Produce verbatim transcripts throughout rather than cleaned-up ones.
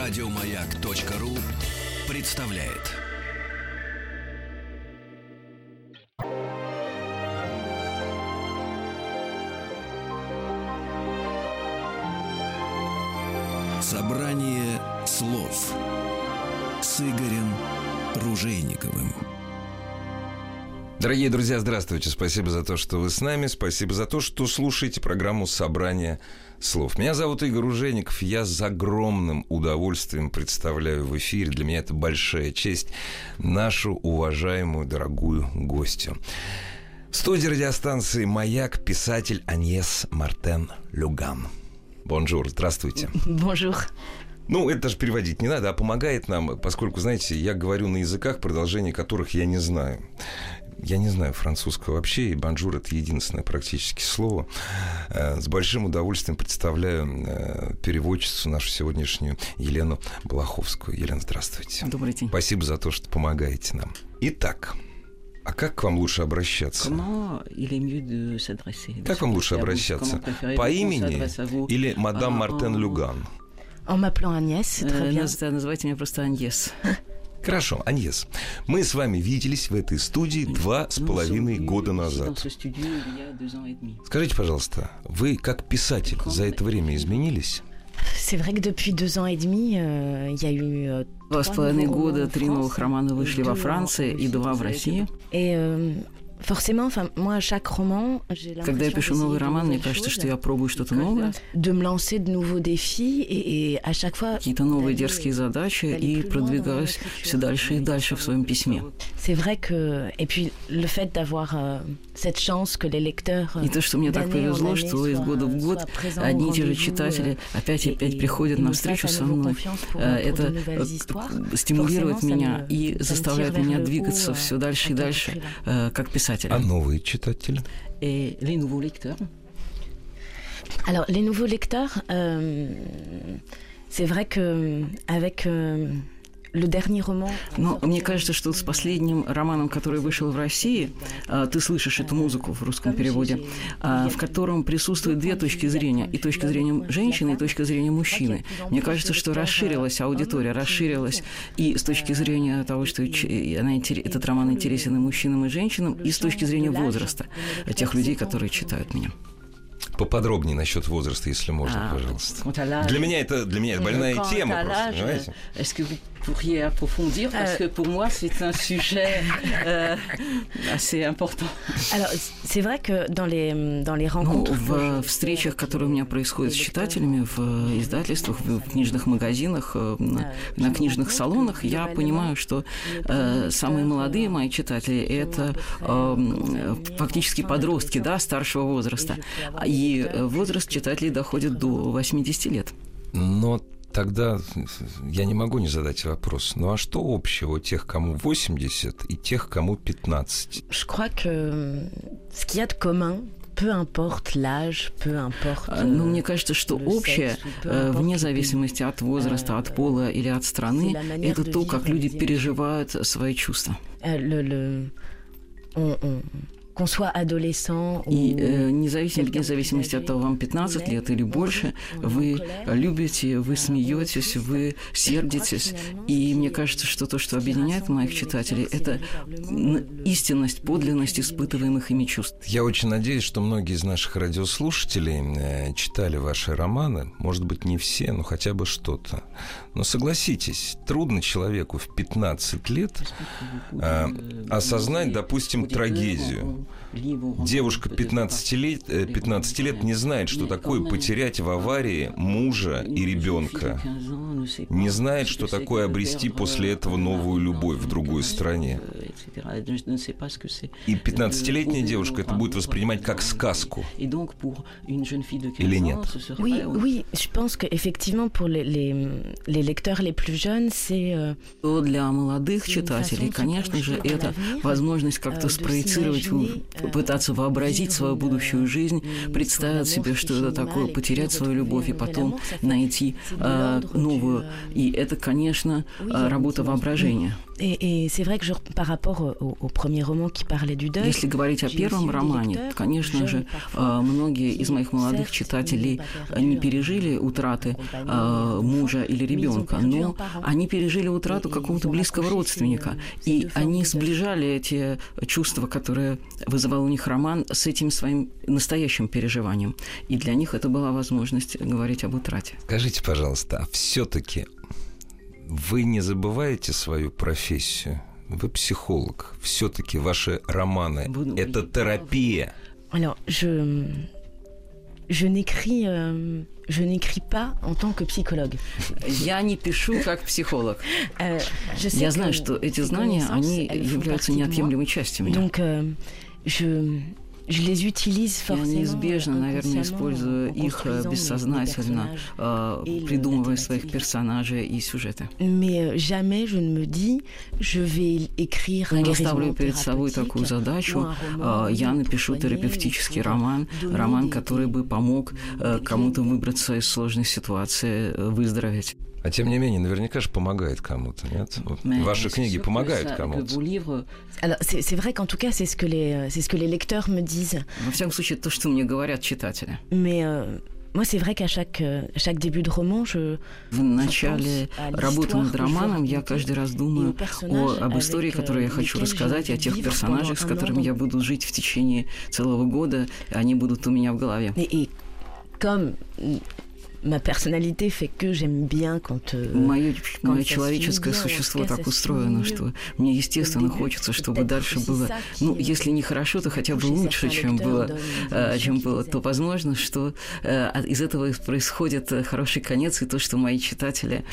Радиомаяк.ру представляет. Собрание слов с Игорем Ружейниковым. Дорогие друзья, здравствуйте. Спасибо за то, что вы с нами. Спасибо за то, что слушаете программу «Собрание слов». Меня зовут Игорь Ружейников. Я с огромным удовольствием представляю в эфире, для меня это большая честь, нашу уважаемую, дорогую гостью. В студии радиостанции «Маяк» писатель Аньес Мартен Люган. Бонжур, здравствуйте. Бонжур. Ну, это даже переводить не надо, а помогает нам, поскольку, знаете, я говорю на языках, продолжение которых я не знаю. Я не знаю французского вообще, и «бонжур» — это единственное практически слово. С большим удовольствием представляю переводчицу нашу сегодняшнюю Елену Балаховскую. Елена, здравствуйте. Добрый день. Спасибо за то, что помогаете нам. Итак, а как к вам лучше обращаться? Как вам лучше обращаться? По имени или мадам Мартен Люган? En m'appelant Agnès, c'est très bien. Называйте меня просто Аньес. Хорошо, Аньес. Мы с вами виделись в этой студии два с половиной года назад. Скажите, пожалуйста, вы как писатель за это время изменились? C'est vrai que depuis deux ans et demi, il y a eu Два с половиной года три новых романа вышли во Франции и два в России. Et forcément, enfin, moi, à chaque roman, j'ai l'impression. Когда я пишу новый роман, мне кажется, что я пробую что-то новое. De me lancer de nouveaux défis et, et à chaque fois. Какие-то новые дерзкие задачи и продвигаюсь все дальше и дальше в своем письме. C'est vrai que et puis le fait d'avoir cette chance que les lecteurs. И то, что мне так повезло, что из года в год одни и те же читатели опять и опять приходят на встречу со мной. Это стимулирует меня и заставляет меня двигаться все дальше и дальше, как писатель. А новые читатели? Et les nouveaux lecteurs. Alors, les nouveaux lecteurs, euh, c'est vrai que avec euh, le dernier roman. Но мне кажется, что с последним романом, который вышел в России, ты слышишь эту музыку в русском переводе, в котором присутствуют две точки зрения, и точка зрения женщины, и точка зрения мужчины. Мне кажется, что расширилась аудитория, расширилась и с точки зрения того, что она, этот роман интересен и мужчинам, и женщинам, и с точки зрения возраста тех людей, которые читают меня. Поподробнее насчет возраста, если можно, а, пожалуйста. Для меня это, для меня это больная тема, просто, понимаете? Pourriez approfondir parce que pour moi c'est un sujet euh, assez important. Alors c'est vrai que dans les dans les rencontres, в встречах, которые у меня происходят с читателями в издательствах, в книжных магазинах, на книжных салонах, я понимаю, что э, самые молодые мои читатели это э, фактически подростки, да, старшего возраста, и возраст читателей доходит до восьмидесяти лет. Но тогда я не могу не задать вопрос. Ну а что общего тех, кому восемьдесят, и тех, кому пятнадцать? Je crois que ce qu'il y a de commun. Peu importe l'âge, peu importe. Но мне кажется, что общее, вне зависимости от возраста, от пола или от страны, это то, как люди переживают свои чувства. Qu'on soit adolescent. И э, независимо, вне зависимости от того, вам пятнадцать лет или больше, вы любите, вы смеетесь, вы сердитесь. И мне кажется, что то, что объединяет моих читателей, это истинность, подлинность испытываемых ими чувств. Я очень надеюсь, что многие из наших радиослушателей читали ваши романы. Может быть, не все, но хотя бы что-то. Но согласитесь, трудно человеку в пятнадцать лет э, осознать, допустим, трагедию. Девушка пятнадцати лет, пятнадцати лет не знает, что такое потерять в аварии мужа и ребенка. Не знает, что такое обрести после этого новую любовь в другой стране. И пятнадцатилетняя девушка это будет воспринимать как сказку. Или нет? Oui, oui, je pense que effectivement pour les les les lecteurs les plus jeunes, c'est для молодых читателей, конечно же, это возможность как-то спроецировать, пытаться вообразить свою будущую жизнь, представить себе, что это такое, потерять свою любовь и потом найти э, новую. И это, конечно, работа воображения. Et, et c'est vrai que je, par rapport au, au premier roman qui parlait du deuil, если говорить о первом романе, конечно же, многие из моих молодых читателей не пережили утраты мужа или ребенка, но они пережили утрату какого-то близкого родственника, и они сближали эти чувства, которые вызывал у них роман, с этим своим настоящим переживанием. И для них это была возможность говорить об утрате. Скажите, пожалуйста, а все-таки вы не забываете свою профессию? Вы психолог. Все-таки ваши романы – это терапия. Alors, je, je n'écris, euh, je n'écris pas en tant que psychologue. Я не пишу как психолог. Euh, je sais Я que знаю, что эти знания, они являются неотъемлемой частью меня. Donc, euh, je... Je les utilise Я неизбежно, наверное, использую их бессознательно, придумывая своих персонажей и сюжеты. Mais jamais je ne me dis, je vais écrire un Я ставлю перед собой такую задачу. Я напишу терапевтический роман, роман, который бы помог кому-то выбраться из сложной ситуации, выздороветь. А тем не менее, наверняка же помогает кому-то, нет? Ваши книги помогают кому-то. Alors, c'est, c'est vrai qu'en tout cas, c'est ce que les, c'est ce que les lecteurs me disent. Во всяком случае, то, что мне говорят читатели. Mais euh, moi, c'est vrai qu'à chaque, à chaque début de roman, je... В начале работы над романом я каждый раз думаю о, об истории, которую я хочу рассказать, и о тех персонажах, с которыми я буду жить в течение целого года, и они будут у меня в голове. Et, et comme... Ma personnalité fait que j'aime bien quand... Мое, мое человеческое существо так устроено, что мне, естественно, хочется, чтобы дальше было, ну, если не хорошо, то хотя бы лучше, чем было, чем было, то возможно, что из этого происходит хороший конец, и то, что мои читатели,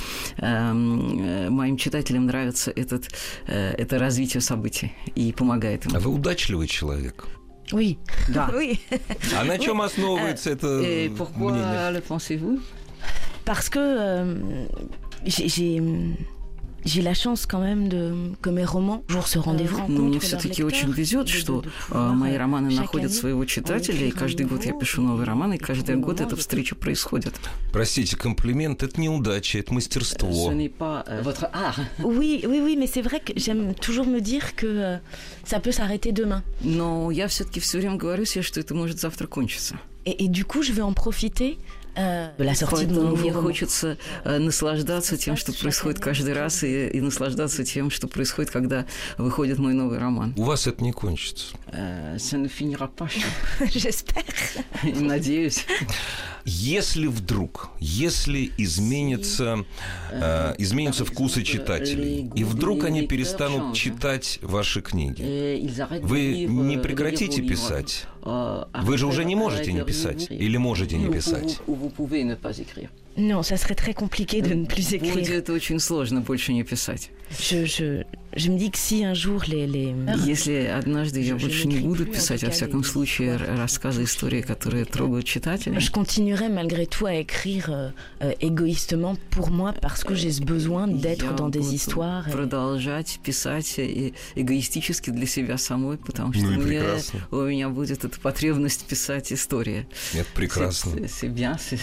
моим читателям нравится этот, это развитие событий и помогает им. А вы удачливый человек? Oui. Да. Oui. А на чем основывается это мнение? Pourquoi le pensez-vous? Parce que euh, j'ai, j'ai, j'ai la chance quand même de, que mes romans toujours se rendez-vous. Но мне все-таки очень везет, что мои романы находят своего читателя, и каждый год я пишу новый роман, и каждый год эта встреча происходит. Простите, комплимент – это неудача, это мастерство. Oui, oui, oui, mais c'est vrai que j'aime toujours me dire que euh, ça peut s'arrêter demain. Но я все-таки все время говорю себе, что это может завтра кончиться. Et, et du coup, je vais en profiter. Поэтому мне хочется наслаждаться тем, что происходит каждый раз, и, и наслаждаться тем, что происходит, когда выходит мой новый роман. У вас это не кончится. Надеюсь. Если вдруг, если изменится, э, изменятся вкусы читателей, и вдруг они перестанут читать ваши книги, вы не прекратите писать? Вы же уже не можете не писать? Или можете не писать? Non, ça serait très compliqué de ne plus écrire. Будет очень сложно больше не писать. Je, je, je me dis que si un jour les, les... Если однажды я больше не буду писать, во всяком случае, рассказы, истории, которые трогают читателей. Je continuerai malgré tout à écrire euh, égoïstement pour moi, parce que j'ai ce besoin d'être dans des histoires. Et... Продолжать писать эгоистически для себя самой, потому что ну мне, у меня будет эта потребность писать истории. Это прекрасно. C'est bien, c'est...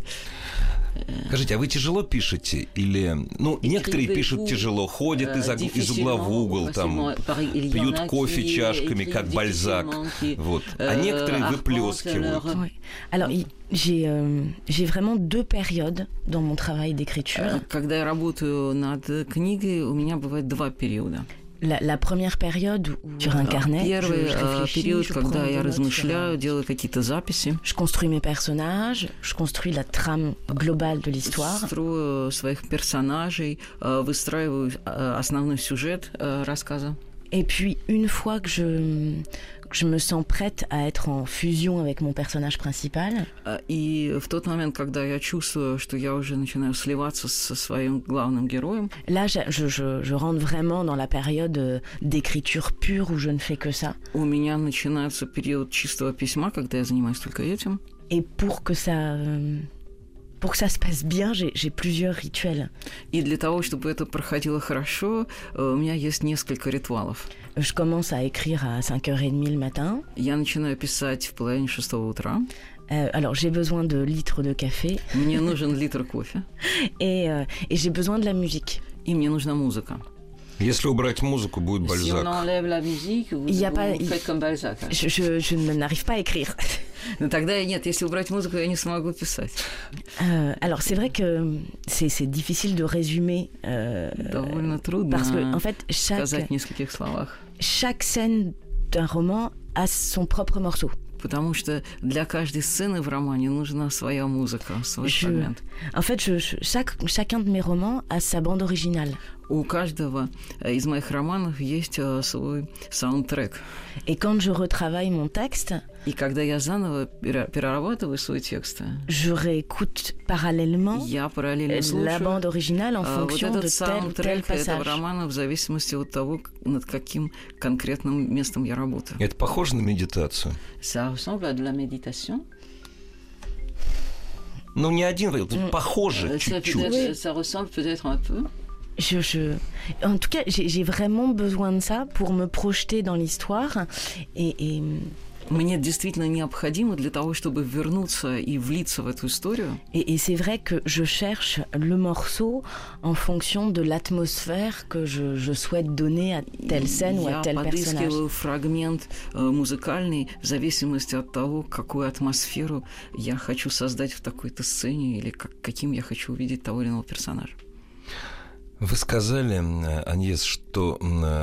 Скажите, а вы тяжело пишете? Или, ну, некоторые пишут тяжело, ходят из, из угла в угол, там, пьют кофе чашками, как Бальзак, вот. А некоторые выплескивают. Alors, j'ai, euh, j'ai vraiment deux périodes dans mon travail d'écriture. Когда я работаю над книгой, у меня бывает два периода. La, la première période sur un carnet, Первый je, je период, когда я размышляю, делаю какие-то записи. Je construis mes personnages, je construis la trame globale de l'histoire. Строю своих персонажей, выстраиваю основной сюжет рассказа. Et puis, une fois que je, que je me sens prête à être en fusion avec mon personnage principal. И в тот момент, когда я чувствую, что я уже начинаю сливаться со своим главным героем. Là, je, je, je rentre vraiment dans la période d'écriture pure où je ne fais que ça. У меня начинается период чистого письма, когда я занимаюсь только этим. Et pour que ça... Pour que ça se passe bien, j'ai, j'ai plusieurs rituels. И для того, чтобы это проходило хорошо, у меня есть несколько ритуалов. Je commence à écrire à cinq heures trente le matin. Я начинаю писать в половине шестого утра. Euh, alors, j'ai besoin de litres de café. Мне нужен литр кофе. Et, euh, et j'ai besoin de la musique. И мне нужна музыка. Если убрать музыку, будет Бальзак. Il y a pas, il... je, je, je n'arrive pas à écrire. Ну тогда нет, если убрать музыку, я не смогу писать. Euh, alors c'est vrai que c'est, c'est difficile de résumer. Euh, Довольно трудно parce que en fait chaque сказать в нескольких словах. Chaque scène d'un roman a son propre morceau. Потому что для каждой сцены в романе нужна своя музыка, свой je... фрагмент. En fait, je, je, chaque, chacun de mes romans a sa bande originale. У каждого из моих романов есть свой саундтрек. Et quand je retravaille mon texte, и когда я заново перерабатываю свой текст, je réécoute parallèlement я параллельно слушаю la bande originale en fonction вот de tel ou tel passage. этого романа в зависимости от того, над каким конкретным местом я работаю. Это похоже на медитацию? Ça ressemble à de la méditation. Ну, не один, похоже чуть-чуть. Ça ressemble peut-être un peu. Je, je... En tout cas, j'ai, j'ai vraiment besoin de ça pour me projeter dans l'histoire. Et, et... Мне действительно необходимо для того, чтобы вернуться и влиться в эту историю. Et, et c'est vrai que je cherche le morceau en fonction de l'atmosphère que je, je souhaite donner à telle scène ou à tel personnage. Я подыскиваю фрагмент музыкальный в зависимости от того, какую атмосферу я хочу создать в такой-то сцене или как, каким я хочу увидеть того или иного персонажа. Вы сказали, Аньес, что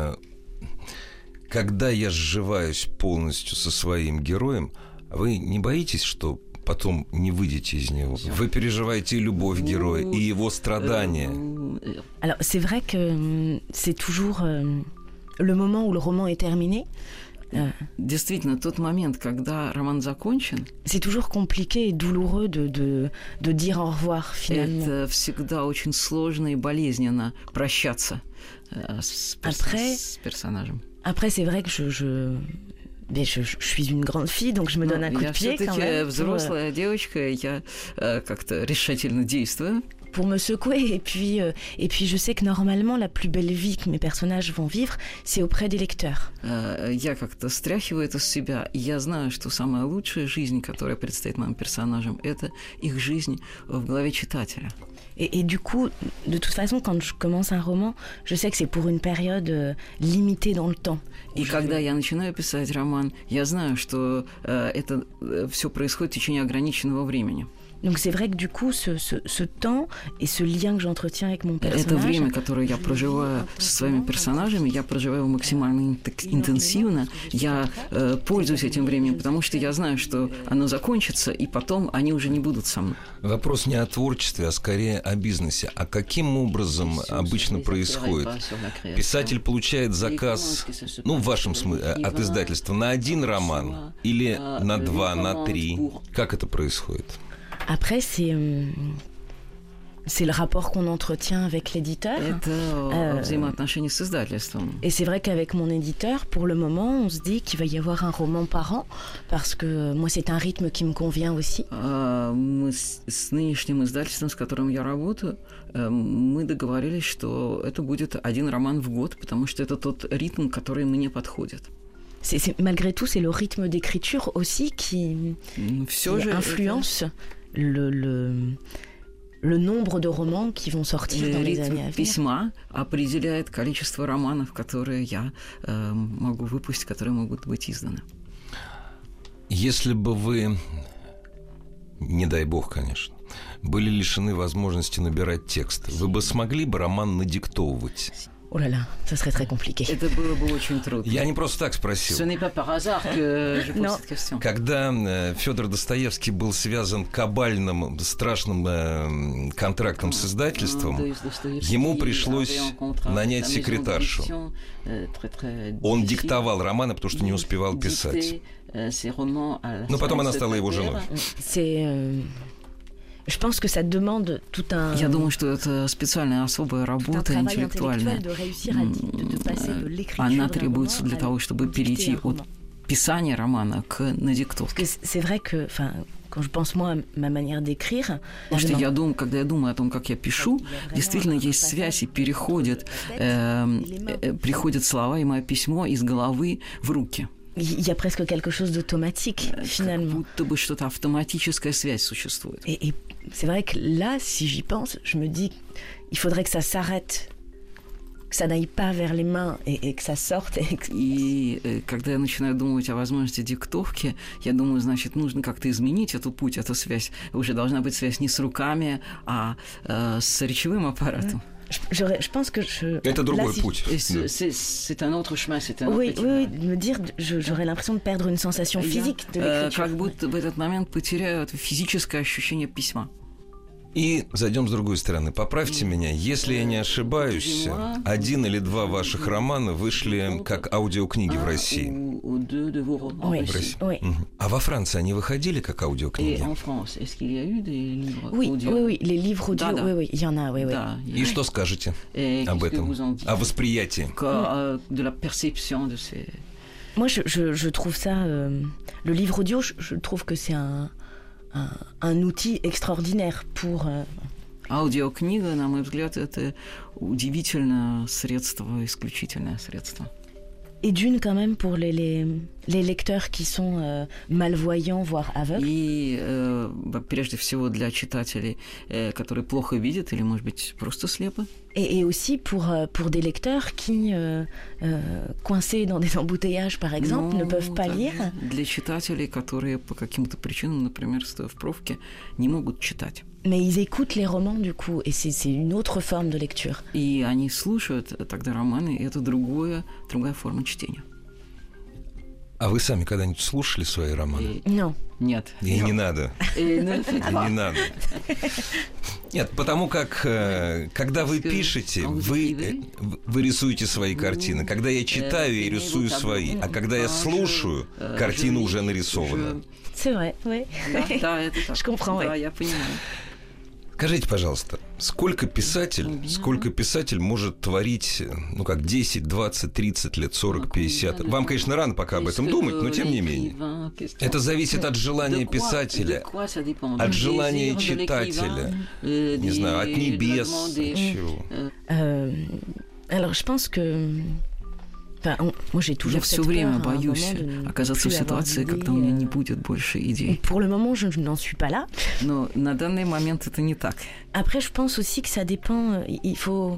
когда я сживаюсь полностью со своим героем, вы не боитесь, что потом не выйдете из него? Вы переживаете и любовь героя, и его страдания. Alors, c'est vrai que c'est toujours le moment où le roman est terminé. Действительно, тот момент, когда роман закончен, c'est toujours compliqué et douloureux de, de, de dire au revoir, finalement. Это всегда очень сложно и болезненно прощаться с, перс... après, с персонажем. Après, c'est vrai que je... je... Mais je, je suis une grande fille, donc je me donne un coup de pied quand même. Я все-таки взрослая девочка, я как-то решительно действую. Pour me secouer. Et puis, euh, et puis, je sais que normalement, la plus belle vie que mes personnages vont vivre, c'est auprès des lecteurs. Я как-то стряхиваю это с себя, и я знаю, что самая лучшая жизнь, которая предстоит моим персонажам, это их жизнь в голове читателя. Et, et du coup, de toute façon, quand je commence un roman, je sais que c'est pour une période euh, limitée dans le temps. И когда я начинаю писать роман, я знаю, что э, это э, все происходит в течение ограниченного времени. Donc c'est vrai que du coup, ce, ce, ce temps et ce lien que j'entretiens avec mon personnage... Это время, которое я проживаю со своими персонажами, я проживаю максимально интенсивно. Я э, пользуюсь этим временем, потому что я знаю, что оно закончится, и потом они уже не будут со мной. Вопрос не о творчестве, а скорее о бизнесе. А каким образом обычно происходит? Писатель получает заказ, ну, в вашем смысле, от издательства, на один роман или на два, на три? Как это происходит? Après, c'est, euh, c'est le rapport qu'on entretient avec l'éditeur. Это взаимоотношения с издательством. Et c'est vrai qu'avec mon éditeur, pour le moment, on se dit qu'il va y avoir un roman par an, parce que moi, c'est un rythme qui me convient aussi. Мы с нынешним издательством, с которым я работаю, мы договорились, что это будет один роман в год, потому что это тот ритм, который мне подходит. C'est, c'est, malgré tout, c'est le rythme d'écriture aussi qui, qui influence le, le, le nombre de romans qui vont sortir dans les années à venir. Письма определяет количество романов, которые я э, могу выпустить, которые могут быть изданы. Если бы вы, не дай бог, конечно, были лишены возможности набирать текст, вы бы смогли бы роман надиктовывать? Oh là là, ça serait très compliqué. Это было бы очень трудно. Я не просто так спросил. Ce n'est pas par hasard que je pose cette question. Когда Фёдор Достоевский был связан кабальным, страшным э, контрактом с издательством, ему пришлось нанять секретаршу. Он диктовал романы, потому что не успевал писать. Но потом она стала его женой. Je pense que ça demande tout un... Я думаю, что это специальная особая работа интеллектуальная. Она требуется для того, чтобы перейти от писания романа к надиктовке. C'est vrai que, enfin, quand je pense moi à ma manière d'écrire, потому что я думаю, когда я думаю о том, как я пишу, действительно есть связь и переходит, э, э, приходят слова и мое письмо из головы в руки. Il y a presque quelque chose d'automatique, finalement. Как будто бы что-то автоматическая связь существует. Et, et c'est vrai que là, si j'y pense, je me dis, il faudrait que ça s'arrête, que que ça n'aille pas vers les mains et, et que ça sorte. Et, и когда я начинаю думать о возможности диктовки, я думаю, значит, нужно как-то изменить эту путь, эту связь. Уже должна быть связь не с руками, а э, с речевым аппаратом. Je, je pense que je... Это другой là, si путь. Je... C'est, c'est un autre chemin, c'est un oui, autre oui, oui, de me dire, je, j'aurais l'impression de perdre une sensation physique de l'écriture. Как будто в этот момент потеряю это физическое ощущение письма. И зайдем с другой стороны. Поправьте меня, если я не ошибаюсь, один или два ваших романа вышли как аудиокниги в России. Oui, в России. Oui. А во Франции они выходили как аудиокниги? Oui, oui, oui, les livres audio, oui, oui, il y en a, oui, oui. И что скажете об этом, о восприятии? Moi, je, je, je trouve ça, euh, le livre audio, je, je trouve que c'est un Un, un outil extraordinaire pour... Аудиокнига, на мой взгляд, это удивительное средство, исключительное средство. Et d'une, quand même, pour les, les, les lecteurs qui sont euh, malvoyants, voire aveugles. И, э, прежде всего, для читателей, э, которые плохо видят или, может быть, просто слепы. Et, et aussi pour, pour des lecteurs qui, euh, euh, coincés dans des embouteillages, par exemple, ну, ne peuvent pas lire. Для читателей, которые по каким-то причинам, например, стоя в пробке, не могут читать. Mais ils écoutent les romans, du coup, et c'est, c'est une autre forme de lecture. И они слушают тогда романы, и это другое, другая форма чтения. А вы сами когда-нибудь слушали свои романы? No. Нет. И не надо. Не надо. Нет, потому как, когда вы пишете, вы, вы рисуете свои картины. Когда я читаю, я рисую свои. А когда я слушаю, картина уже нарисована. C'est vrai, oui. Да, это так. Je comprends, да, oui. я понимаю. Скажите, пожалуйста, сколько писатель, сколько писатель может творить, ну как, десять, двадцать, тридцать лет, сорок, пятьдесят? Вам, конечно, рано пока об этом думать, но тем не менее. Это зависит от желания писателя, от желания читателя, не знаю, от небес, от чего. Alors, je pense que... Я все время боюсь оказаться в ситуации, когда у меня не будет больше идей. Pour le moment, je n'en suis pas là. Но на данный момент это не так. Après, je pense aussi que ça dépend. Il faut,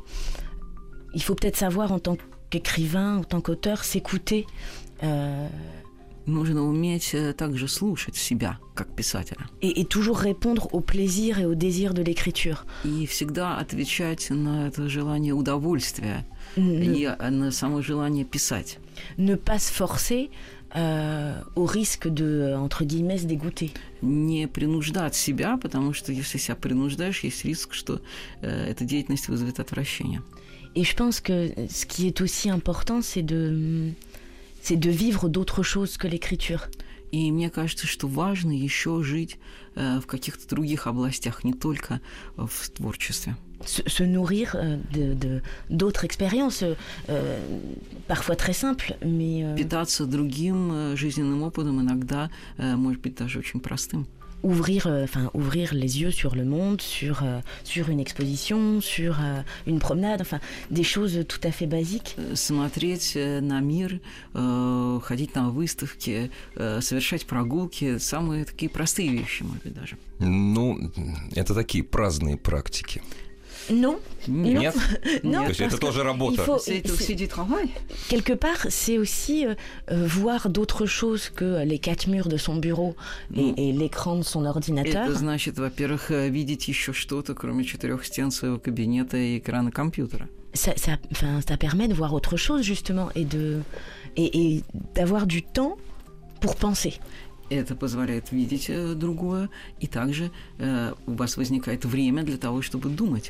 il faut peut-être savoir en tant qu'écrivain, en tant qu'auteur, s'écouter. Euh... Нужно уметь также слушать себя, как писателя. Et, et toujours répondre au plaisir et au désir de l'écriture. И всегда отвечать на это желание удовольствия. И на само желание писать. Ne pas se forcer euh, au risque de, entre guillemets, se dégoûter. Не принуждать себя, потому что если себя принуждаешь, есть риск, что э, эта деятельность вызовет отвращение. Et je pense que ce qui est aussi important, c'est de, c'est de vivre d'autres choses que l'écriture. И мне кажется, что важно еще жить э, в каких-то других областях, не только в творчестве. Se, se nourrir de, de, d'autres expériences, euh, parfois très simples, mais... Euh, Питаться другим жизненным опытом иногда, euh, может быть, даже очень простым. Ouvrir, euh, enfin, ouvrir les yeux sur le monde, sur, euh, sur une exposition, sur euh, une promenade, enfin, des choses tout à fait basiques. Смотреть на мир, euh, ходить на выставки, euh, совершать прогулки, самые такие простые вещи, может быть, даже. Ну, это такие праздные практики. Non. Нет? Non. То есть это тоже работа. Faut, c'est aussi du travail. Quelque part, c'est aussi euh, voir d'autres choses que les quatre murs de son bureau et, ну, et l'écran de son ordinateur. Это значит, во-первых, видеть еще что-то, кроме четырех стен своего кабинета и экрана компьютера. Ça, ça, enfin, ça permet de voir autre chose, justement, et, de, et, et d'avoir du temps pour penser. Это позволяет видеть э, другое, и также э, у вас возникает время для того, чтобы думать.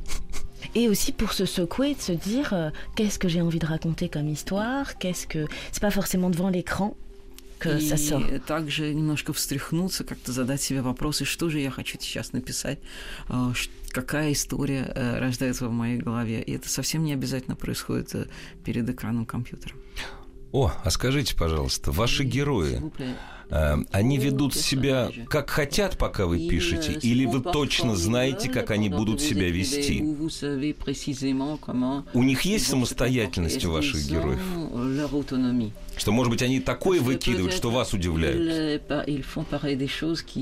Et aussi pour se secouer, de se dire euh, qu'est-ce que j'ai envie de raconter comme histoire, qu'est-ce que... C'est pas forcément devant l'écran que и ça sort. И также немножко встряхнуться, как-то задать себе вопросы, что же я хочу сейчас написать, э, какая история э, рождается в моей голове. И это совсем не обязательно происходит э, перед экраном компьютера. О, а скажите, пожалуйста, ваши герои, э, они ведут себя как хотят, пока вы пишете, или вы точно знаете, как они будут себя вести? У них есть самостоятельность у ваших героев? Что, может быть, они такое выкидывают, что вас удивляют?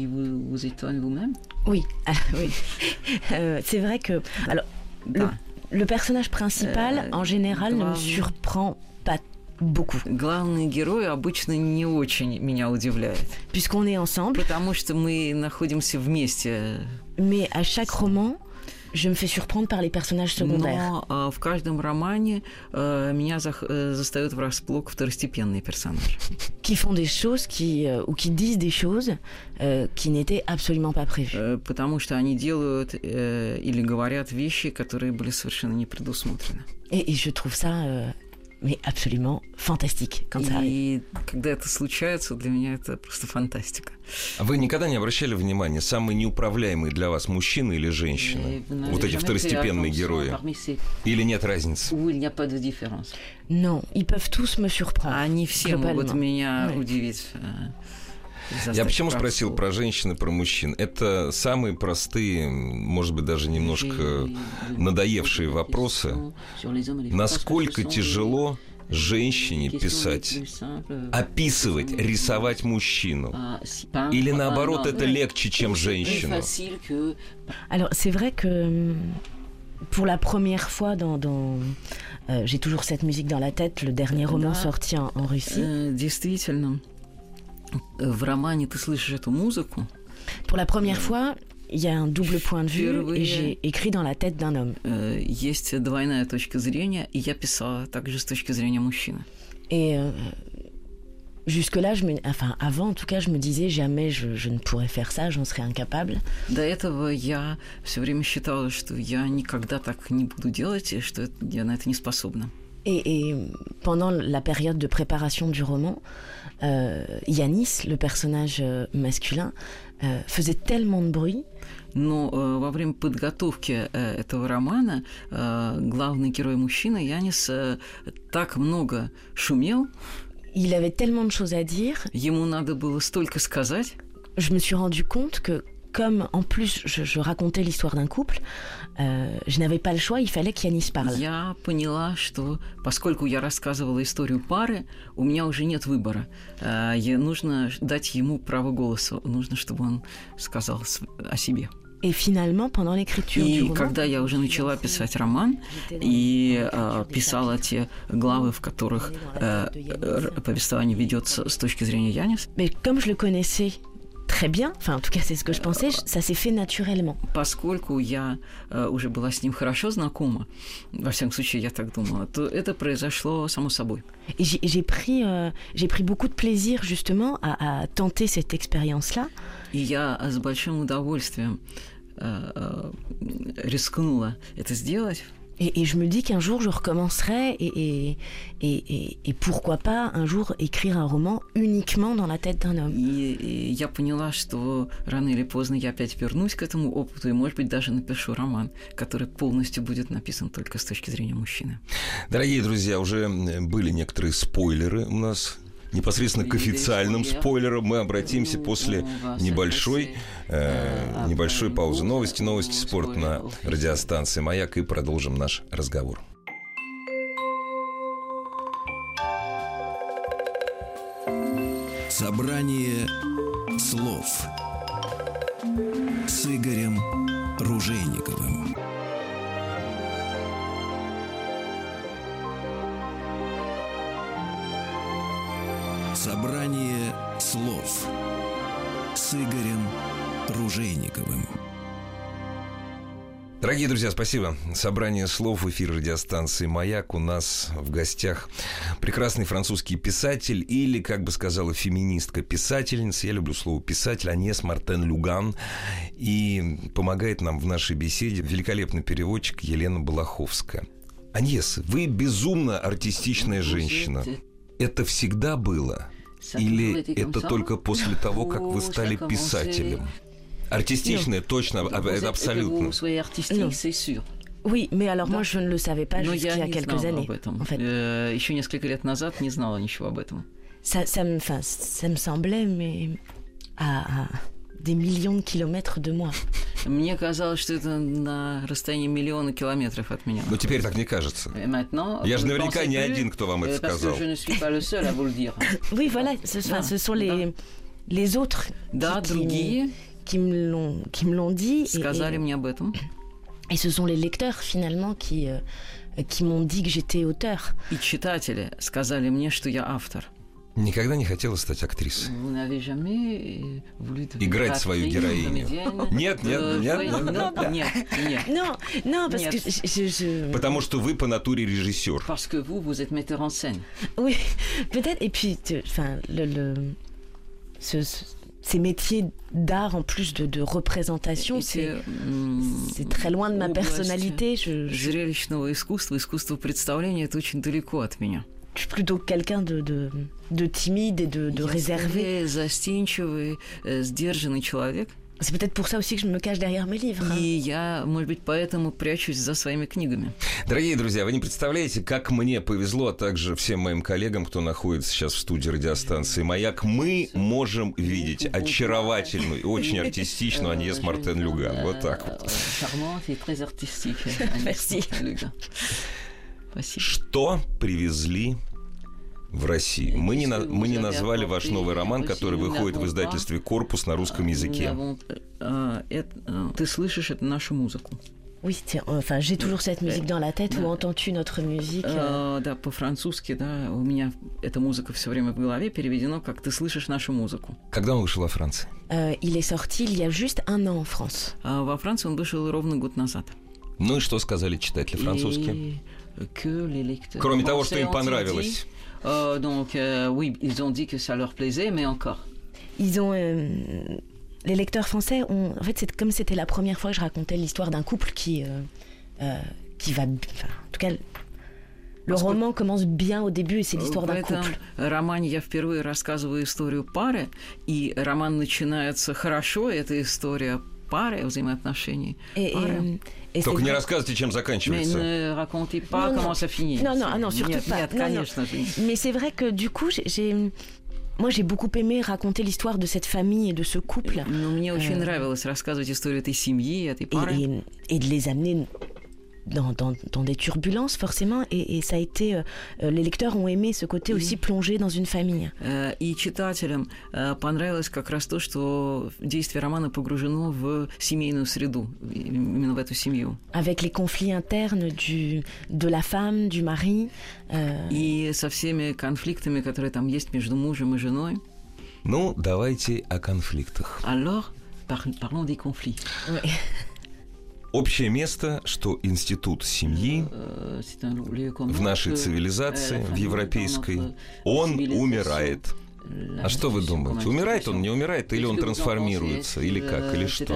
Oui, ah, oui. Euh, c'est vrai que... Alors, да. Le personnage principal, en général, ne me surprend pas beaucoup. Главный герой обычно не очень меня удивляет. Puisqu'on est ensemble. Потому что мы находимся вместе. Mais à chaque roman, je me fais surprendre par les personnages secondaires. Но в каждом романе меня застают врасплох второстепенные персонажи. Qui font des choses qui, ou qui disent des choses qui n'étaient absolument pas prévues. Потому что они делают или говорят вещи, которые были совершенно не предусмотрены. Et, et je trouve ça mais absolument fantastique quand ça arrive. И когда это случается, для меня это просто фантастика. А вы никогда не обращали внимания, самый неуправляемый для вас мужчина или женщина? Вот эти второстепенные герои. Или нет разницы? Non, ils peuvent tous me surprendre. Они все могут меня удивить. Я почему спросил про женщин и про мужчин? Это самые простые, может быть, даже немножко надоевшие вопросы. Насколько тяжело женщине писать, описывать, рисовать мужчину? Или наоборот, это легче, чем женщину? Alors, c'est vrai que pour la première fois dans... dans... Euh, j'ai toujours cette musique dans la tête, le dernier roman sorti en, en Russie. Действительно. В романе ты слышишь эту музыку. Pour la première fois, il y a un double point de vue, et j'ai écrit dans la tête d'un homme. Есть двойная точка зрения, и я писала также с точки зрения мужчины. Et euh, jusque-là, je me, enfin, avant, en tout cas, je me disais jamais je, je ne pourrais faire ça, j'en serais incapable. До этого я все время считала, что я никогда так не буду делать, и что я на это не способна. Et, et pendant la période de préparation du roman, euh, Yanis, le personnage masculin, euh, faisait tellement de bruit. Но э, во время подготовки э, этого романа э, главный герой мужчина Янис э, так много шумел. Il avait tellement de choses à dire. Ему надо было столько сказать. Je me suis rendu compte que comme en plus je, je racontais l'histoire d'un couple, euh, je n'avais pas le choix, il fallait qu'Yanis parle. Я поняла, что поскольку я рассказывала историю пары, у меня уже нет выбора. Э, нужно дать ему право голоса, нужно, чтобы он сказал о себе. Et finalement, pendant l'écriture и du roman, когда я уже начала писать роман и э, писала те главы, в которых э, повествование ведется с точки зрения Янис. Mais comme je le connaissais très bien, enfin en tout cas c'est ce que je pensais, ça s'est fait naturellement. Поскольку я э, уже была с ним хорошо знакома, во всяком случае я так думала, то это произошло само собой. Et j'ai, j'ai pris, euh, j'ai pris beaucoup de plaisir justement à, à tenter cette expérience-là. И я с большим удовольствием э, э, рискнула это сделать. Et, et je me dis qu'un jour je recommencerai et, et, et, et, et pourquoi pas un jour écrire un roman uniquement dans la tête d'un homme. И, и я поняла, что рано или поздно я опять вернусь к этому опыту и, может быть, даже напишу роман, который полностью будет написан только с точки зрения мужчины. Дорогие друзья, уже были некоторые спойлеры у нас. Непосредственно к официальным спойлерам мы обратимся после небольшой, э, небольшой паузы. Новости, новости, спорт на радиостанции «Маяк» и продолжим наш разговор. Собрание слов с Игорем Ружейниковым. Собрание слов с Игорем Ружейниковым. Дорогие друзья, спасибо. Собрание слов в эфире радиостанции «Маяк». У нас в гостях прекрасный французский писатель или, как бы сказала феминистка-писательница, я люблю слово «писатель», Аньес Мартен-Люган. И помогает нам в нашей беседе великолепный переводчик Елена Балаховская. Аньес, вы безумно артистичная женщина. Это всегда было? Или это только после того, как вы стали писателем? Артистичная, точно, абсолютно. Oui, mais alors moi je ne le savais pas jusqu'il y a quelques années. En fait. Еще несколько лет назад не знала ничего об этом. Ça, ça, me, enfin, ça me semblait, mais à, à des millions de kilomètres de moi. Мне казалось, что это на расстоянии миллиона километров от меня. Но теперь так не кажется. Я же наверняка не один, кто вам это сказал. Oui, voilà, ce, да, ce sont les, да. les autres да, qui, другие qui, me l'ont, qui me l'ont dit. Сказали et, мне об этом. Et ce sont les lecteurs, finalement, qui, euh, qui m'ont dit que j'étais auteur. И читатели сказали мне, что я автор. Никогда не хотела стать актрисой? Играть свою героиню? Нет, нет, нет, нет, нет, нет. Non, non, parce que je, je... Потому что вы по натуре режиссер. Parce que vous, vous êtes metteur en scène. Oui, peut-être. Et puis, enfin, le, le, ce, ce, ces métiers d'art en plus de, de représentation, c'est, c'est très loin de ma personnalité. Je, je... Зрелищного искусства, искусства представления, это очень далеко от меня. Je suis plutôt quelqu'un de, de, de timide et de, de réservé. Застенчивый, сдержанный человек. C'est peut-être pour ça aussi que je me cache derrière mes livres. И я, может быть, поэтому прячусь за своими книгами. Дорогие друзья, вы не представляете, как мне повезло, а также всем моим коллегам, кто находится сейчас в студии радиостанции «Маяк». Мы можем видеть очаровательную и очень артистичную Аньес Мартен-Люган. Вот так вот. Что привезли в Россию? Мы не, на, мы не назвали ваш новый роман, который выходит в издательстве «Корпус» на русском языке. Ты слышишь эту нашу музыку? Oui, enfin, j'ai toujours cette musique dans la tête. Où entends-tu notre musique? Да, по-французски, да, у меня эта музыка все время в голове переведено, как «ты слышишь нашу музыку». Когда он вышел во Франции? Il est sorti il y a juste un an en France. Во Франции он вышел ровно год назад. Ну и что сказали читатели французские? Кроме того, что им понравилось. Euh, donc, euh, oui, ils ont dit que ça leur plaisait, mais encore. Ils ont... Euh, les lecteurs français ont... En fait, c'est comme c'était la première fois que je racontais l'histoire d'un couple qui, euh, euh, qui va... Enfin, en tout cas, le Parce roman que... commence bien au début, et c'est l'histoire d'un couple. В этом романе я впервые рассказываю историю пары, и роман начинается хорошо, это история пары, взаимоотношений. Et, пары. Et, et Только не рассказывайте, чем заканчивается. Mais ne racontez pas non, comment non. ça finit. Non, non, ah non, surtout нет, pas. Нет, non, конечно non. же. Mais c'est vrai que du coup, j'ai, j'ai... moi j'ai beaucoup aimé raconter l'histoire de cette famille et de ce couple. Но мне очень euh... нравилось рассказывать историю этой семьи, этой пары. Et, et, et de les amener dans, dans, dans des turbulences, forcément. Et, et ça a été... Euh, les lecteurs ont aimé ce côté aussi plongé dans une famille. И читателям понравилось как раз то, что действие романа погружено в семейную среду, именно в эту семью. Avec les conflits internes du, de la femme, du mari. Euh... И со всеми конфликтами, которые там есть между мужем и женой. Ну, давайте о конфликтах. Alors, parlons des conflits. Oui. Общее место, что институт семьи в нашей цивилизации, в европейской, он умирает. А что вы думаете? Умирает он, не умирает, или он трансформируется, или как, или что?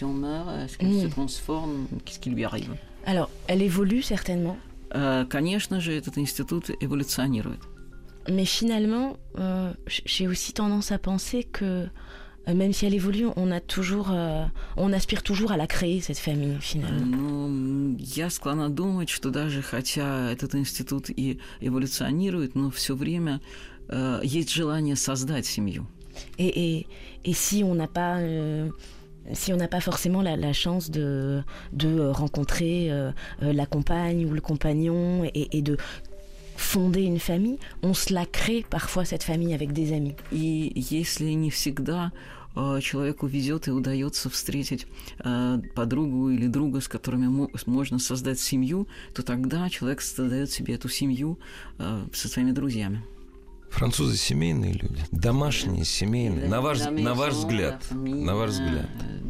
Alors, elle évolue certainement. Конечно же, этот институт эволюционирует. Mais finalement, euh, j'ai aussi tendance à penser que même si elle évolue, on a toujours, euh, on aspire toujours à la créer, cette famille, finalement. Ну, я склонна думать, что даже хотя этот институт и эволюционирует, но все время э, есть желание создать семью. Et, et, et si on n'a pas... Euh... Si on n'a pas forcément la, la chance de, de rencontrer euh, la compagne ou le compagnon et, et de fonder une famille, on se la crée parfois, cette famille, avec des amis. И если не всегда э, человеку везет и удается встретить э, подругу или друга, с которыми мо- можно создать семью, то тогда человек создает себе эту семью э, со своими друзьями. Французы семейные люди, домашние, семейные. На ваш, на ваш взгляд, на ваш взгляд.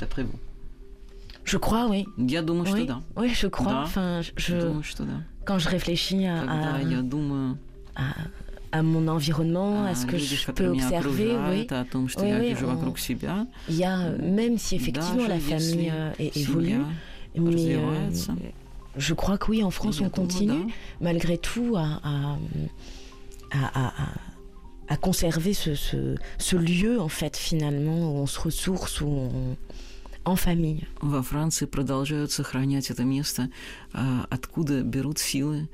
Je crois, oui. Я думаю, oui. что да. Oui, je crois. Да. Enfin, je, думаю, что да. Quand je réfléchis à, Когда à, я думаю à, à mon environnement, à ce que люди, je peux observer, oui. О том, что oui, я oui, вижу on... вокруг себя. Il y a, même si effectivement la famille évolue, mais euh, je crois que oui, en France, on continue, malgré tout, à, à, à, à, à conserver ce, ce, ce lieu, en fait, finalement, où on se ressource, où on... en famille. Во Франции продолжают сохранять это место, откуда берут силы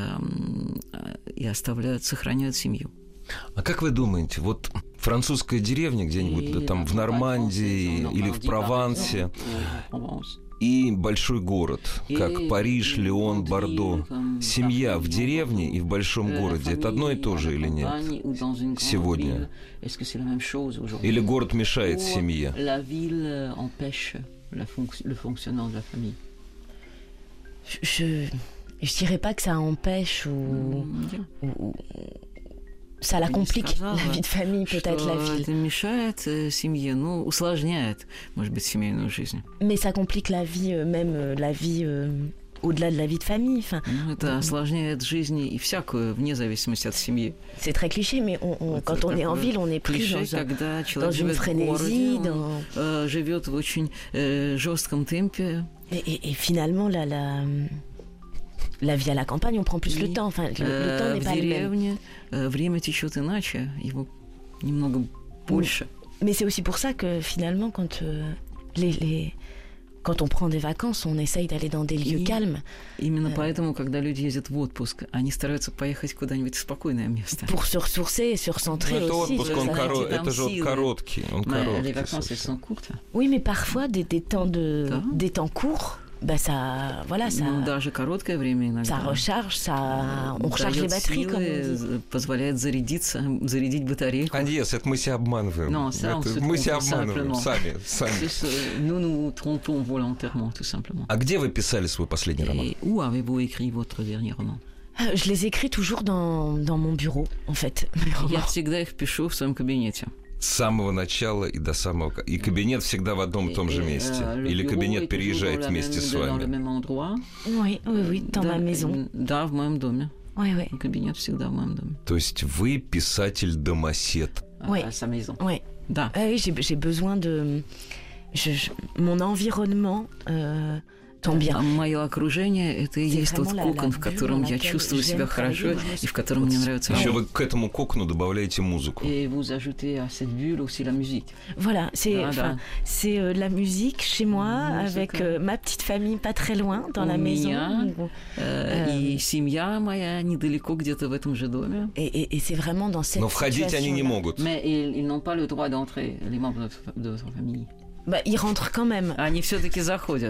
и оставляют, сохраняют семью. А как вы думаете, вот французская деревня где-нибудь да, там в Нормандии или в Провансе и большой город, как Париж, Лион, Бордо, семья в деревне и в большом городе, это одно и то же или нет сегодня? Или город мешает семье? Je je dirais pas que ça empêche ou, mm. ou, ou ça la complique, la vie de famille, peut-être la vie. Это мешает семье, ну, усложняет, может быть, семейную жизнь. Mais ça complique la vie, même la vie euh, au-delà de la vie de famille. Enfin, ну, это осложняет жизнь и всякую, вне зависимости от семьи. C'est très cliché, mais on, on, quand on est en ville, on est plus клише, dans, когда dans une frénésie, городе, dans... euh, живет в очень euh, жестком темпе. Et, et, et finalement, la, la, la vie à la campagne, on prend plus le temps. Enfin, le, le temps n'est pas le même. Время течет иначе, его немного больше. Mais c'est aussi pour ça que finalement, quand, euh, les, les, quand on prend des vacances, on essaye d'aller dans des lieux И calmes. Именно поэтому, когда люди ездят в отпуск, они стараются поехать куда-нибудь в спокойное место. Pour se ressourcer et se recentrer это aussi. Отпуск, он коро... Это же вот короткий. Он короткий. Les vacances, elles sont courtes. Oui, mais parfois, des, des, temps, de, да. des temps courts, bah ça, voilà, ça, ну, даже короткое время иногда. Ça recharge, ça, on recharge les batteries, силы, comme on dit. Позволяет зарядиться, зарядить батарейку. Аньес, это мы себя обманываем. Non, ça, это on se мы trompe себя обманываем simplement. сами. сами. Nous nous trompons volontairement, tout simplement. А где вы писали свой последний роман? Et où avez-vous écrit votre dernier roman? Je les écris toujours dans, dans mon bureau, en fait. Я всегда их пишу в своем кабинете. С самого начала и до самого... И кабинет всегда в одном и том же месте? Или кабинет переезжает вместе с вами? Oui, oui, oui, dans ma maison. Да, в моем доме. Oui, oui. Кабинет всегда в моем доме. То есть вы писатель-домосед? Oui. À sa maison. Oui. Да. Ah, oui, j'ai, j'ai besoin de... Je, je, mon environnement... Euh... Мое окружение – это и есть тот кокон, в котором я чувствую себя хорошо и в котором мне нравится. Еще вы к этому кокону добавляете музыку. Et vous ajoutez à cette bulle aussi la musique. Voilà, c'est, ah, enfin, c'est euh, la musique chez moi, musique. Avec euh, ma petite famille pas très loin, dans la maison. Меня, euh, и семья моя недалеко, где-то в этом же доме. Et, et, et c'est vraiment dans cette Но входить они не могут. Mais ils, ils n'ont pas le droit d'entrer, les membres de votre famille. Bah, ils rentrent quand même. Они все-таки заходят.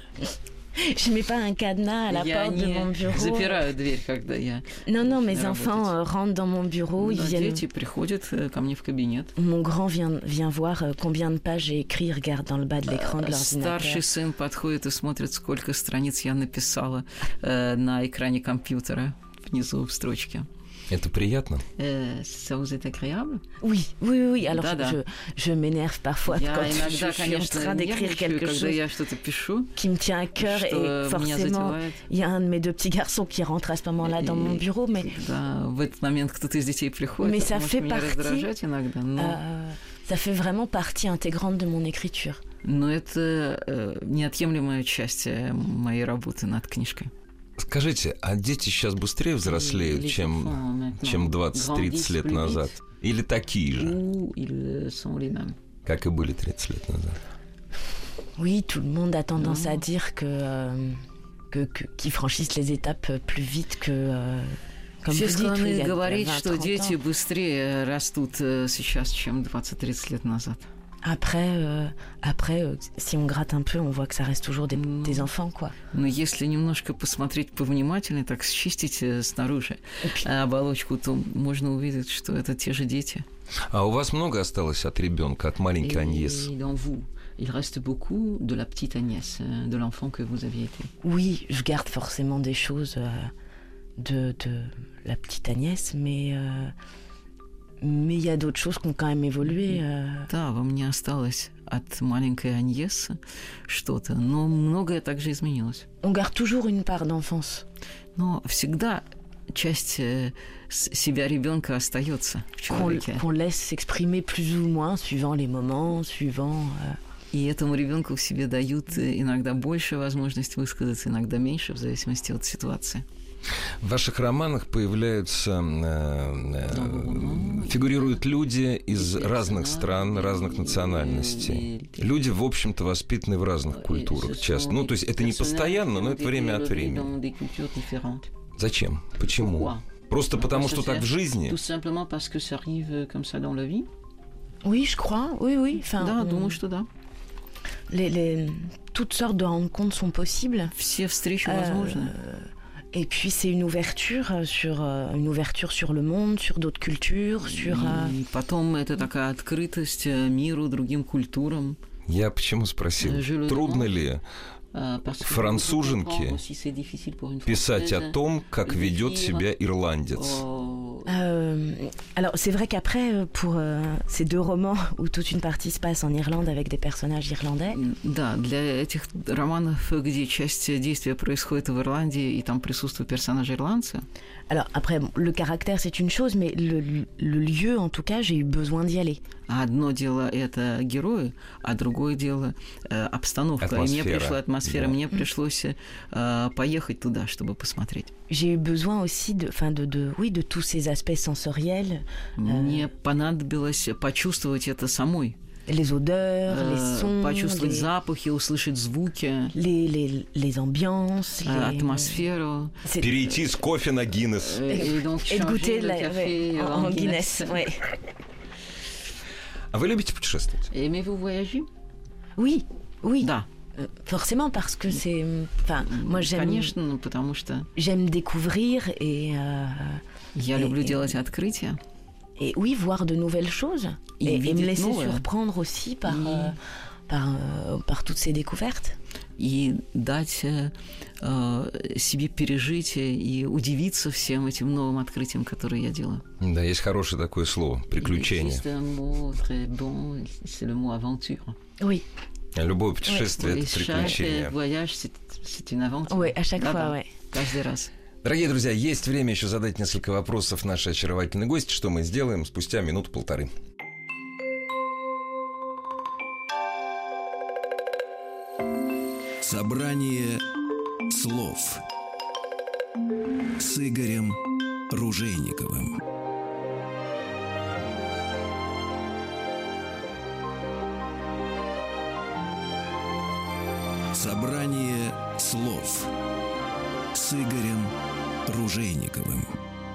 Je mets pas un cadenas à la я porte de mon bureau. Запираю дверь, когда я Non, non, mes enfants euh, rentrent dans mon bureau. Ils viennent... Дети приходят ко мне в кабинет. Mon grand vient, vient voir combien de pages j'ai écrit, regarde dans le bas de l'écran de l'ordinateur. Старший сын подходит и смотрит, сколько страниц я написала э, на экране компьютера внизу в строчке. Это приятно? Euh, ça vous est agréable? Oui, oui, oui. Alors, да, je, да. je m'énerve parfois я quand иногда, je, je suis en train d'écrire quelque chose я что-то пишу, qui me tient à cœur. Et forcément, il y a un de mes deux petits garçons qui rentre à ce moment-là dans mon bureau. Mais, да, в этот момент кто-то из детей приходит, mais ça fait меня partie, раздражать иногда, но... euh, ça fait vraiment partie intégrante de mon écriture. Но это э, неотъемлемая часть моей работы над книжкой. Скажите, а дети сейчас быстрее взрослеют, чем, чем двадцать-тридцать лет назад? Или такие же? Как и были тридцать лет назад? Oui, tout le monde a tendance à dire que, euh, que, que, qu'ils franchissent les étapes plus vite que... Euh, comme Все vous склонны dites, говорить, vingt, что дети быстрее растут сейчас, чем двадцать-тридцать лет назад. Après, euh, après euh, si on gratte un peu, on voit que ça reste toujours des, mm. des enfants, quoi. Но если немножко посмотреть повнимательнее, так счистить снаружи puis... оболочку, то можно увидеть, что это те же дети. А у вас много осталось от ребенка, от маленькой Аньес? Et dans vous, il reste beaucoup de la petite Agnès, de l'enfant que vous aviez été. Oui, je garde forcément des choses euh, de, de la petite Agnès, mais... Euh... Mais il y a d'autres choses qui ont quand même évolué. Да, во мне осталось от маленькой Аньес что-то, но многое также изменилось. On garde toujours une part d'enfance. Но всегда часть себя ребенка остается в человеке. Qu'on, qu'on laisse s'exprimer plus ou moins, suivant les moments, suivant... И этому ребенку в себе дают иногда больше возможность высказаться, иногда меньше, в зависимости от ситуации. В ваших романах появляются, э, э, фигурируют люди из разных стран, разных национальностей. Люди, в общем-то, воспитаны в разных культурах часто. Ну, то есть это не постоянно, но это время от времени. Зачем? Почему? Просто потому, что так в жизни? Oui, je crois. Oui, oui. Enfin, да, думаю, что да. Les, les, toutes sortes de rencontres sont possibles. Все встречи возможны. Et puis c'est une ouverture sur une ouverture sur le monde, sur d'autres cultures, sur. И потом это такая открытость миру, другим культурам. Я почему спросил, трудно ли француженке писать о том, как ведет себя ирландец? Euh, alors, c'est vrai qu'après, pour euh, ces deux romans où toute une partie se passe en Irlande avec des personnages irlandais. Да, для этих романов, где часть действия происходит в Ирландии и там присутствуют персонажи ирландцы. Alors, après, le caractère, c'est une chose, mais le, le lieu, en tout cas, j'ai eu besoin d'y aller. Одно дело это герои, а другое дело э, обстановка. Атмосфера. И мне пришла атмосфера, Да. мне пришлось э, поехать туда, чтобы посмотреть. J'ai eu besoin aussi de, enfin de, de, oui, de tous ces aspects sensoriels. Мне понадобилось почувствовать это самой. Les odeurs, Э, les sons, почувствовать les, запахи, услышать звуки, les, les, les ambiances, э, les... атмосферу. C'est- Перейти с кофе на Гиннес. Et, et donc Et de goûter changer le la- café ouais, en, en en Guinness. Ouais. А вы любите путешествовать? Aimez-vous voyager? Oui, oui. Да, Euh, Forcément, parce que c'est... Enfin, moi, j'aime, конечно, ну, потому что j'aime découvrir et, euh, я Et- люблю et- делать открытия. et oui, voir de nouvelles choses. Et Et, et me видеть laisser новое. surprendre aussi par, И- euh, par, euh, par toutes ces découvertes. И дать э, э, себе пережить и удивиться всем этим новым открытиям, которые я делаю. Да, есть хорошее такое слово – приключение. C'est un mot très bon, c'est le mot aventure. Oui, Любое путешествие – Et это chaque приключение. voyage, c'est, c'est une aventure. oui, à chaque Да, fois, да, ouais. каждый раз. Дорогие друзья, есть время еще задать несколько вопросов нашей очаровательной гости, что мы сделаем спустя минуту-полторы. Собрание слов с Игорем Ружейниковым. Собрание слов с Игорем Ружейниковым.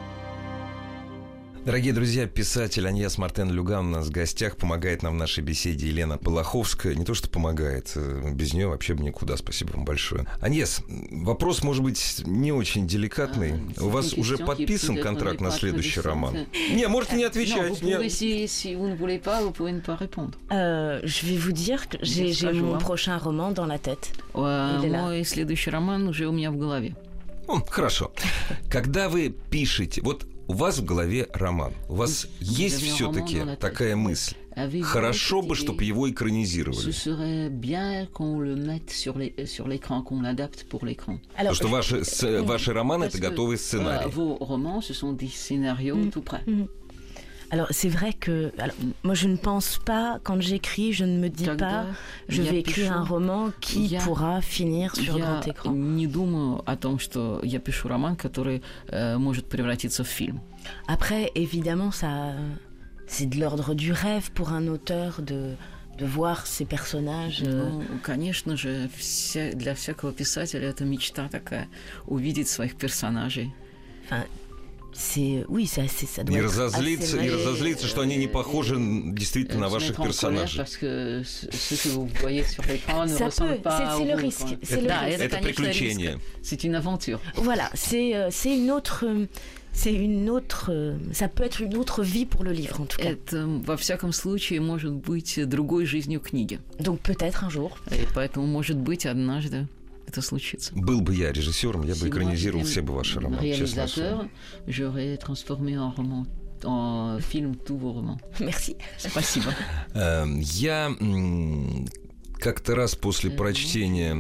Дорогие друзья, писатель Аньес Мартен Люган у нас в гостях, помогает нам в нашей беседе Елена Полоховская. Не то, что помогает, без нее вообще бы никуда. Спасибо вам большое. Аньес, вопрос, может быть, не очень деликатный. А, У вас уже подписан контракт на следующий роман? Не, можете не отвечать. Non, vous pouvez, si, si vous ne voulez pas, vous pouvez ne pas répondre. Euh, je vais vous dire que j'ai, j'ai Скажу mon вам. prochain roman dans la tête. Euh, Il est là. Мой следующий роман уже у меня в голове. О, хорошо. Когда вы пишете, вот у вас в голове роман, у вас есть все-таки такая мысль. Хорошо бы, чтобы его Ce экранизировали. serait bien qu'on le mette sur, les, sur l'écran, qu'on l'adapte pour l'écran. Alors, Потому что ваши, с- ваши романы – это Parce que, готовые euh, сценарии. vos romans, ce sont des scénarios tout prêts. alors, c'est vrai que... Alors, moi, je ne pense pas, quand j'écris, je ne me dis Когда pas, je я vais écrire пишу, un roman qui я- pourra finir sur Я grand écran. не думаю о том, что я пишу роман, который э, может превратиться в фильм. Après, évidemment, ça, c'est de l'ordre du rêve pour un auteur de, de voir ses personnages. euh, Ну, конечно же, вся, для всякого писателя это мечта такая — увидеть своих персонажей. Enfin, c'est... Oui, ça, c'est, ça doit И être разозлиться, assez и magique. разозлиться, что они не похожи действительно на Se ваших mettre en colère персонажей. parce que ce ce que vous voyez sur l'écran ne Ça ressemble peut, pas c'est- au c'est le vous, risque, quoi. c'est le Да, risque. это, Это конечно, приключение. риск. C'est une aventure. Voilà, c'est, euh, c'est une autre... euh, C'est une autre... euh, Ça peut être une autre vie pour le livre, en tout cas. Это, во всяком случае, может быть другой жизнью книги. Donc peut-être un jour. И поэтому, может быть, однажды это случится. Был бы я режиссером, я бы Si moi экранизировал j'étais все бы ваши романы, честное слово. réalisateur, j'aurais transformé en roman, en film tous vos romans. Merci. Спасибо. Эм, Я м, как-то раз после прочтения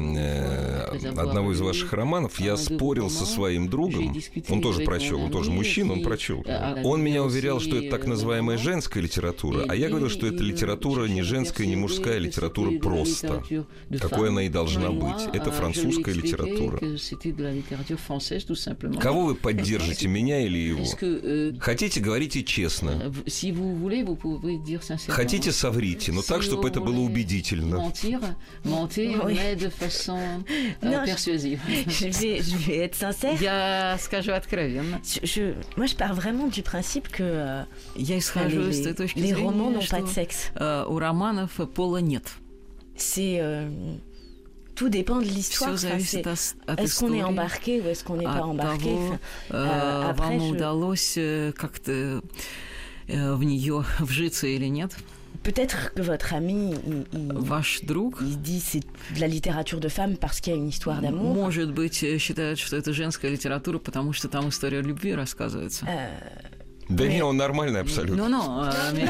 э, одного из ваших романов я спорил со своим другом. Он тоже прочел, он тоже мужчина, он прочел. Он меня уверял, что это так называемая женская литература, а я говорил, что это литература не женская, не мужская, а литература просто. Какой она и должна быть. Это французская литература. Кого вы поддержите, меня или его? Хотите, говорите честно. Хотите, соврите, но так, чтобы это было убедительно. Mentir, Oui. mais de façon euh, Non, je- persuasive. Je vais, je vais être sincère. Я скажу откровенно. Je, je- moi, je pars vraiment du principe que euh, Я исхожу les, из той точки les romans зрения, n'ont pas de что sexe. э, у романов пола нет. C'est euh, tout dépend de l'histoire. Все Enfin, зависит c'est- от, от est-ce qu'on est истории, embarqué ou est-ce qu'on n'est pas от embarqué? того, Enfin, э, euh, après, вам je- удалось э, как-то э, в нее вжиться или нет. Peut-être que votre ami, il, il, Ваш друг, il dit c'est de la littérature de femme parce qu'il y a une histoire d'amour. Может быть, считает, что это женская литература, потому что там история любви рассказывается. Euh, Да mais... не, он нормальный абсолютно. Ну, ну,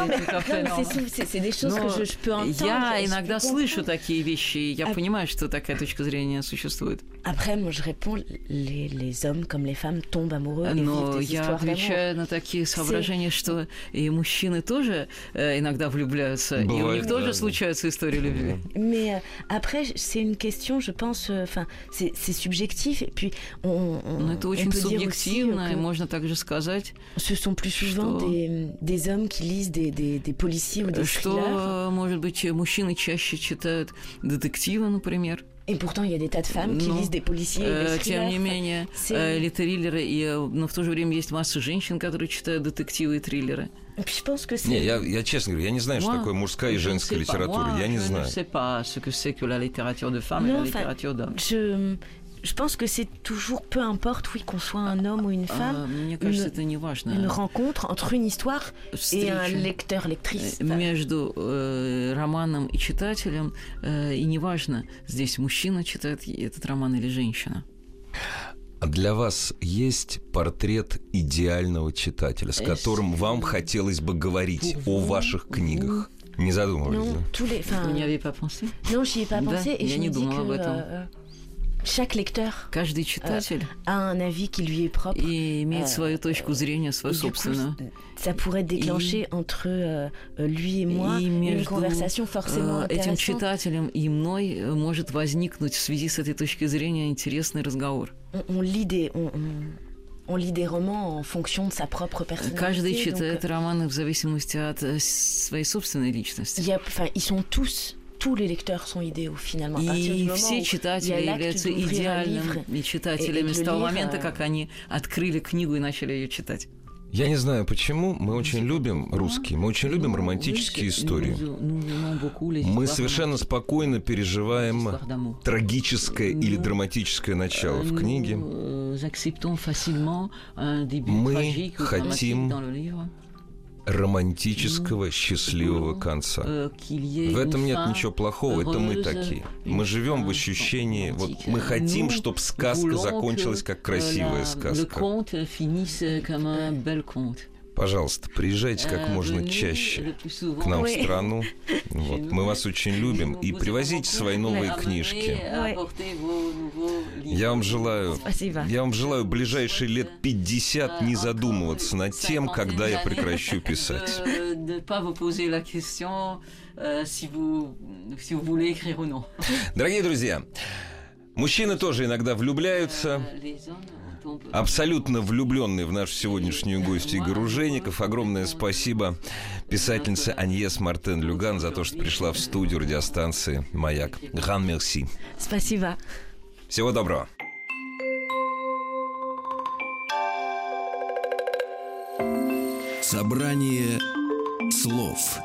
c'est des choses que je, je peux entendre. Я иногда слышу такие вещи, и я понимаю, что такая точка зрения существует. Après, moi, je réponds, les, les hommes comme les femmes tombent amoureux et vivent des я histoires отвечаю d'amour. на такие соображения, что и мужчины тоже э, иногда влюбляются, Бывает, и у них да, тоже да. случаются истории любви. Mais euh, après, c'est une question, je pense, enfin, euh, c'est, c'est subjectif, et puis on, on, Но это очень on peut субъективно, dire и можно также сказать, ce sont plus souvent des, des hommes qui lisent des, des, des policiers ou des что, thrillers. Может быть, mужчины чаще читают детективы, например. Et pourtant, il y a des tas de femmes qui но, lisent des policiers et des thrillers. Тем не менее, или триллеры, и, но в то же время есть масса женщин, которые читают детективы и триллеры. Je pense que c'est... Не, я, я честно говорю, я не знаю, moi, что такое мужская и женская литература. Moi, я не je знаю. Je ne sais pas ce que c'est que la littérature de femme non, et la littérature d'homme. Je... Je pense que c'est toujours, peu importe, oui, qu'on soit un homme ou une femme, Мне кажется, это не важно. Une rencontre entre une histoire Встреча et un lecteur, lectrice. Между э, романом и читателем, э, и неважно, здесь мужчина читает этот роман или женщина. А для вас есть портрет идеального читателя, с которым вам хотелось бы говорить о ваших книгах? Не задумывались, non, да? Tous les, Vous n'y avez pas pensé? Non, j'y ai pas pensé. Да, et я je не me dis думала que, об этом. Euh, Chaque lecteur Каждый читатель a un avis qui lui est propre. И имеет свою точку зрения, свою собственную. Coup, ça pourrait déclencher и, entre euh, lui et moi и une conversation forcément intéressante. Этим читателем и мной может возникнуть в связи с этой точки зрения интересный разговор. On, on lit des... On, on... On lit des romans en fonction de sa propre personnalité. Каждый читает donc, романы в зависимости от своей собственной личности. Y a, enfin, ils sont tous, tous les lecteurs sont idéaux finalement. И все читатели являются идеальными читателями с того момента, как они открыли книгу и начали ее читать. Я не знаю почему, мы очень любим русские, мы очень любим романтические истории. Мы совершенно спокойно переживаем трагическое или драматическое начало в книге. Мы хотим романтического, счастливого конца. В этом нет ничего плохого, это мы такие. Мы живем в ощущении, вот мы хотим, чтобы сказка закончилась как красивая сказка. Пожалуйста, приезжайте как можно чаще к нам в страну. Вот. Мы вас очень любим. И привозите свои новые книжки. Я вам желаю, я вам желаю ближайшие лет пятьдесят не задумываться над тем, когда я прекращу писать. Дорогие друзья, мужчины тоже иногда влюбляются. Абсолютно влюбленный в нашу сегодняшнюю гостью Игорь Ружейников. Огромное спасибо писательнице Аньес Мартен-Люган за то, что пришла в студию радиостанции «Маяк». Гран мерси. Спасибо. Всего доброго. Собрание слов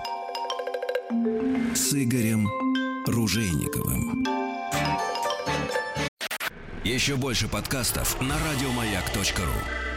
с Игорем Ружейниковым. Еще больше подкастов на радиомаяк точка ру.